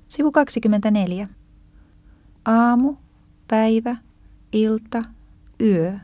Sivu 24. Aamu, päivä, ilta, yö.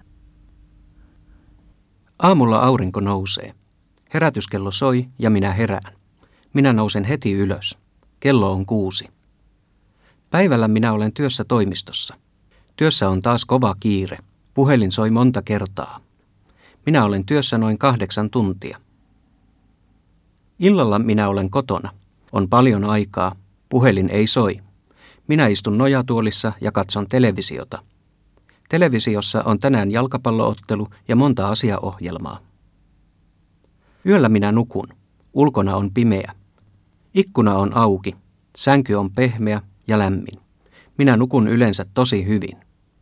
Aamulla aurinko nousee. Herätyskello soi ja minä herään. Minä nousen heti ylös. Kello on 6. Päivällä minä olen työssä toimistossa. Työssä on taas kova kiire. Puhelin soi monta kertaa. Minä olen työssä noin 8 tuntia. Illalla minä olen kotona. On paljon aikaa. Puhelin ei soi. Minä istun nojatuolissa ja katson televisiota. Televisiossa on tänään jalkapalloottelu ja monta asiaohjelmaa. Yöllä minä nukun. Ulkona on pimeä. Ikkuna on auki. Sänky on pehmeä ja lämmin. Minä nukun yleensä tosi hyvin.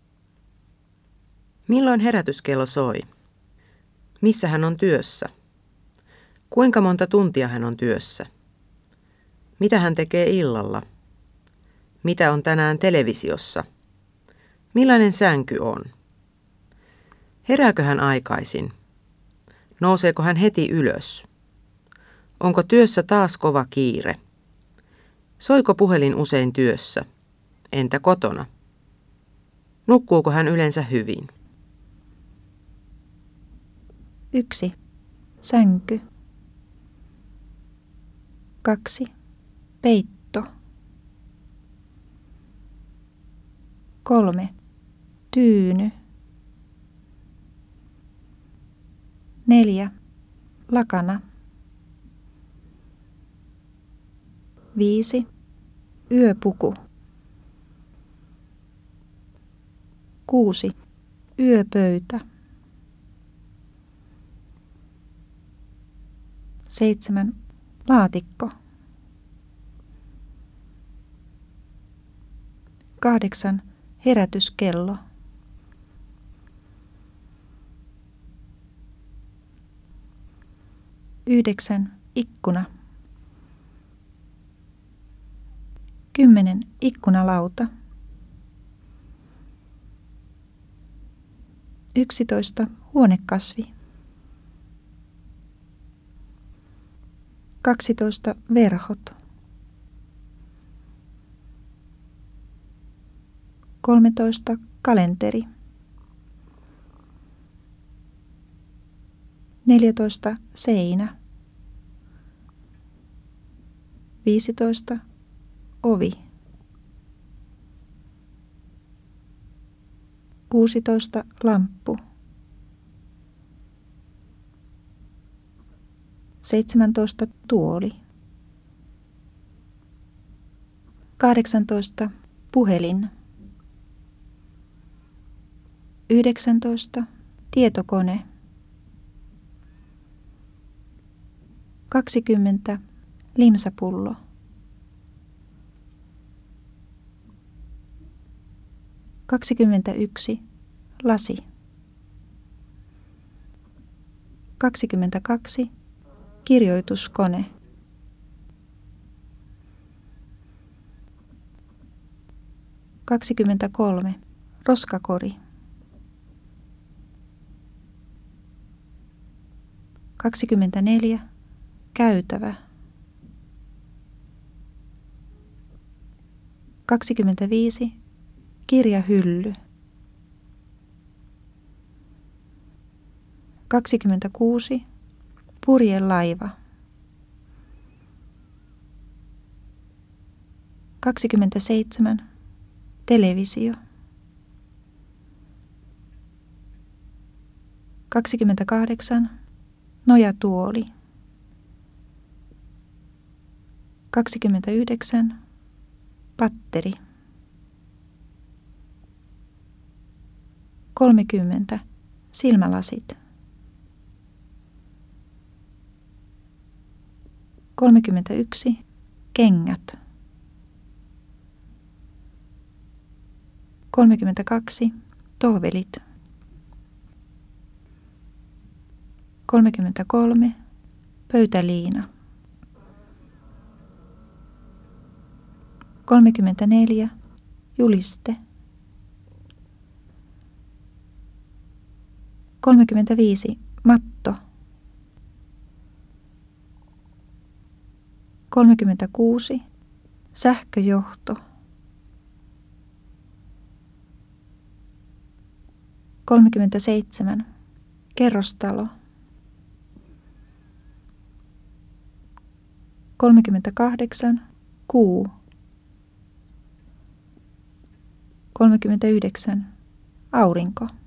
Milloin herätyskello soi? Missä hän on työssä? Kuinka monta tuntia hän on työssä? Mitä hän tekee illalla? Mitä on tänään televisiossa? Millainen sänky on? Herääkö hän aikaisin? Nouseeko hän heti ylös? Onko työssä taas kova kiire? Soiko puhelin usein työssä? Entä kotona? Nukkuuko hän yleensä hyvin? 1. Sänky. 2. Peitto. 3. Tyyny. 4. Lakana. 5. Yöpuku. 6. Yöpöytä. 7. Laatikko. 8. Herätyskello. 9. Ikkuna. 10. Ikkunalauta. 11. Huonekasvi. 12. Verhot. 13. Kalenteri. 14. Seinä. 15. Ovi. 16. Lamppu. 17. Tuoli. 18. Puhelin. 19. Tietokone. 20. Limsapullo. 21. Lasi. 22. Kirjoituskone. 23. Roskakori. 24. Käytävä. 25. Kirjahylly. 26. Purjelaiva. 27. Televisio. 28. Nojatuoli. 29. Patteri. 30. Silmälasit. 31. Kengät. 32. Tohvelit. 33. Pöytäliina. 34. Juliste. 35. Matto. 36. Sähköjohto. 37. Kerrostalo. 38. Kuu. 39. Aurinko.